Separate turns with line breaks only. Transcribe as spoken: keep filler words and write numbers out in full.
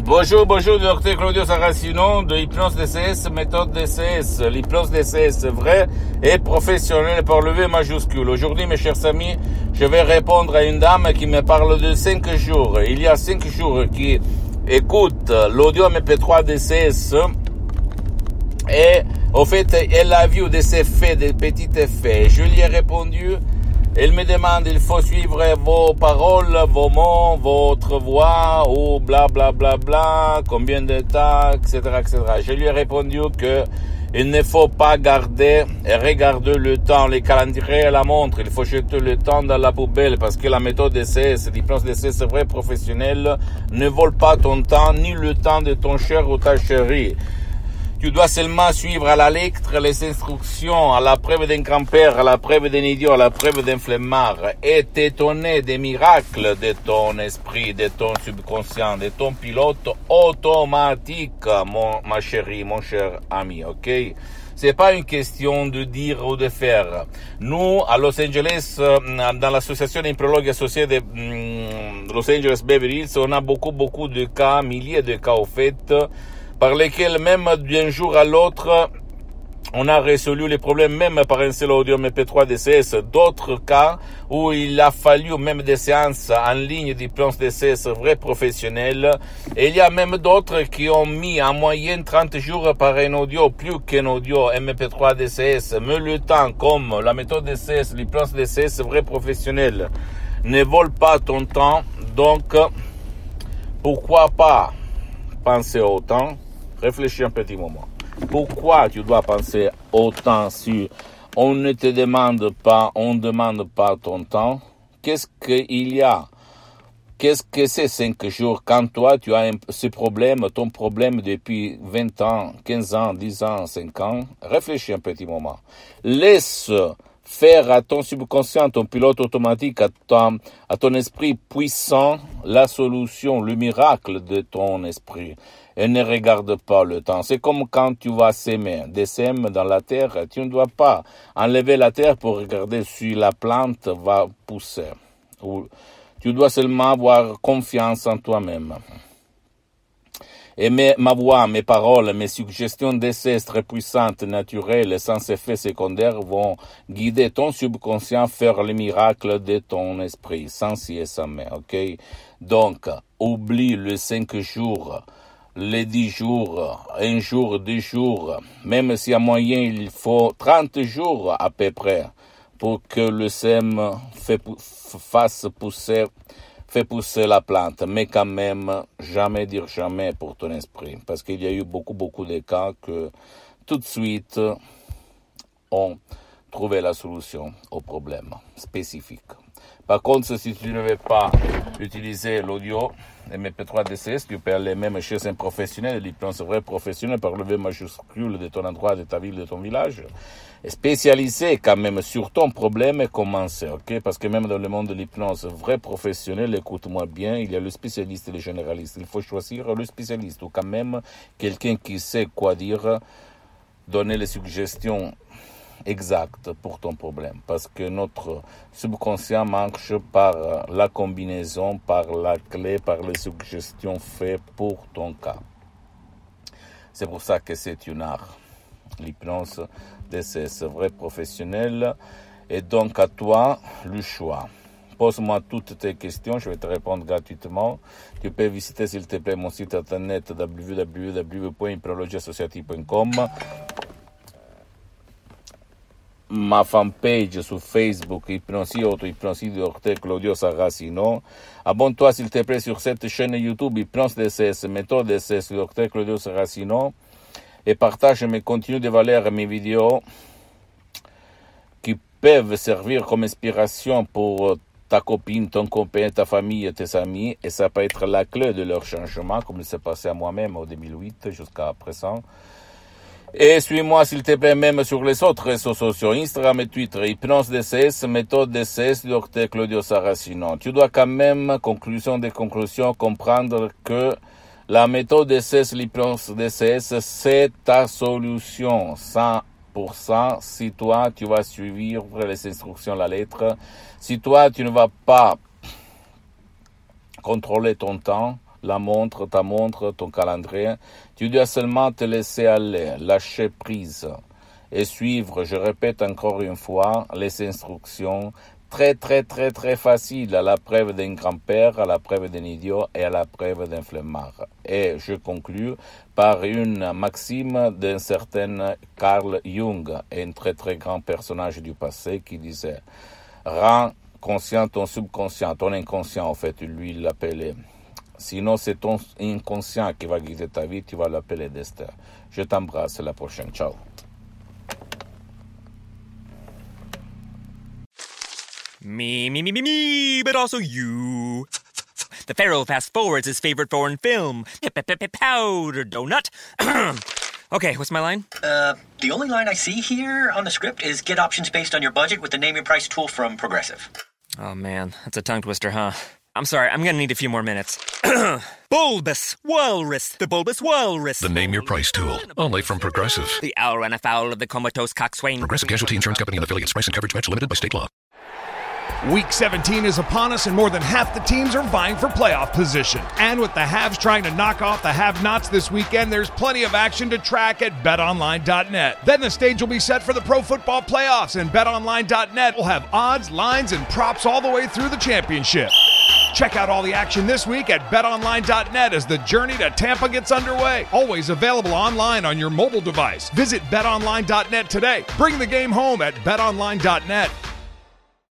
Bonjour, bonjour, docteur Claudio Saracino de Hypnose D C S, méthode D C S. L'hypnose D C S vrai et professionnelle par le V majuscule. Aujourd'hui, mes chers amis, je vais répondre à une dame qui me parle de cinq jours. Il y a cinq jours qui écoute l'audio M P trois D C S et au fait, elle a vu des effets, des petits effets. Je lui ai répondu. Elle me demande, il faut suivre vos paroles, vos mots, votre voix, ou bla bla bla bla, combien de temps, et cetera, et cetera. Je lui ai répondu que il ne faut pas garder et regarder le temps, les calendriers et la montre. Il faut jeter le temps dans la poubelle parce que la méthode D C S, l'hypnose D C S vrai professionnel, ne vole pas ton temps ni le temps de ton cher ou ta chérie. Tu dois seulement suivre à la lettre les instructions, à la preuve d'un grand-père, à la preuve d'un idiot, à la preuve d'un flemmard, et t'étonner des miracles de ton esprit, de ton subconscient, de ton pilote automatique, mon, ma chérie, mon cher ami, ok? C'est pas une question de dire ou de faire. Nous, à Los Angeles, dans l'association Imprologue associée de mm, Los Angeles Beverly Hills, on a beaucoup, beaucoup de cas, milliers de cas au fait, par lesquels même d'un jour à l'autre, on a résolu les problèmes même par un seul audio M P trois D C S. D'autres cas où il a fallu même des séances en ligne d'hypnose D C S vrai professionnel. Et il y a même d'autres qui ont mis en moyenne trente jours par un audio, plus qu'un audio M P trois D C S. Mais le temps, comme la méthode D C S, l'hypnose D C S vrai professionnel, ne vole pas ton temps. Donc, pourquoi pas penser au temps? Réfléchis un petit moment. Pourquoi tu dois penser autant si on ne te demande pas, on ne demande pas ton temps? Qu'est-ce qu'il y a? Qu'est-ce que c'est cinq jours quand toi tu as un, ce problème, ton problème depuis vingt ans, quinze ans, dix ans, cinq ans? Réfléchis un petit moment. Laisse faire à ton subconscient, ton pilote automatique, à ton, à ton esprit puissant, la solution, le miracle de ton esprit. Et ne regarde pas le temps. C'est comme quand tu vas s'aimer, des sèmes dans la terre. Tu ne dois pas enlever la terre pour regarder si la plante va pousser. Ou tu dois seulement avoir confiance en toi-même. Et mes, ma voix, mes paroles, mes suggestions d'essais très puissantes, naturelles, sans effet secondaire, vont guider ton subconscient à faire le miracle de ton esprit, sans si et sans mais, ok? Donc, oublie les cinq jours, les dix jours, un jour, deux jours, même si à moyen il faut trente jours à peu près pour que le sème fait, fasse pousser Fais pousser la plante, mais quand même, jamais dire jamais pour ton esprit. Parce qu'il y a eu beaucoup, beaucoup de cas que tout de suite ont trouvé la solution au problème spécifique. Par contre, si tu ne veux pas utiliser l'audio M P trois D C S, tu peux aller même chez un professionnel, l'hypnose vrai professionnel par le V majuscule de ton endroit, de ta ville, de ton village, spécialisé quand même sur ton problème et commencer, ok? Parce que même dans le monde de l'hypnose vrai professionnel, écoute-moi bien, il y a le spécialiste et le généraliste. Il faut choisir le spécialiste ou quand même quelqu'un qui sait quoi dire, donner les suggestions exact pour ton problème, parce que notre subconscient marche par la combinaison, par la clé, par les suggestions faites pour ton cas. C'est pour ça que c'est une art, l'hypnose D C S vrai professionnel, et donc à toi le choix. Pose-moi toutes tes questions, je vais te répondre gratuitement. Tu peux visiter s'il te plaît mon site internet w w w point hypnologie associative point com, ma fanpage su Facebook, Hypnosie Auto, Hypnosie de Docteur Claudio Saracino. Abonne-toi s'il te plaît sur cette chaîne YouTube Hypnose D C S, méthode D C S, Docteur Claudio Saracino, et partage mes contenus de valeur, mes vidéos qui peuvent servir comme inspiration pour ta copine, ton copain, ta famille, tes amis, et ça peut être la clé de leur changement, comme il s'est passé à moi-même en deux mille huit jusqu'à présent. Et suis-moi s'il te plaît même sur les autres réseaux sociaux, Instagram et Twitter, Hypnose D C S, méthode D C S, Docteur Claudio Saracino. Tu dois quand même, conclusion des conclusions, comprendre que la méthode D C S, l'hypnose D C S, c'est ta solution, cent pour cent, si toi tu vas suivre les instructions à la lettre, si toi tu ne vas pas contrôler ton temps, la montre, ta montre, ton calendrier. Tu dois seulement te laisser aller, lâcher prise et suivre, je répète encore une fois, les instructions très très très très faciles à la preuve d'un grand-père, à la preuve d'un idiot et à la preuve d'un flemmard. Et je conclus par une maxime d'un certain Carl Jung, un très très grand personnage du passé qui disait « Rends conscient ton subconscient, ton inconscient en fait, lui il l'appelait. Sinon c'est ton inconscient qui va guider ta vie, tu vas l'appeler destin. » Je t'embrasse, à la prochaine, ciao.
Me, me, me, me, me, but also you. The Pharaoh fast forwards his favorite foreign film, Powder Donut. Okay, what's my line?
Uh, the only line I see here on the script is get options based on your budget with the Name Your Price tool from Progressive.
Oh man, that's a tongue twister, huh? I'm sorry, I'm gonna need a few more minutes. Bulbous Walrus, the Bulbous Walrus.
The Name Your Price tool, only from Progressive.
The owl ran afoul of the comatose coxswain.
Progressive Casualty Insurance Company and affiliates. Price and coverage match limited by state law.
Week seventeen is upon us, and more than half the teams are vying for playoff position. And with the haves trying to knock off the have-nots this weekend, there's plenty of action to track at bet online dot net. Then the stage will be set for the pro football playoffs, and bet online dot net will have odds, lines, and props all the way through the championship. Check out all the action this week at bet online dot net as the journey to Tampa gets underway. Always available online on your mobile device. Visit bet online dot net today. Bring the game home at bet online dot net.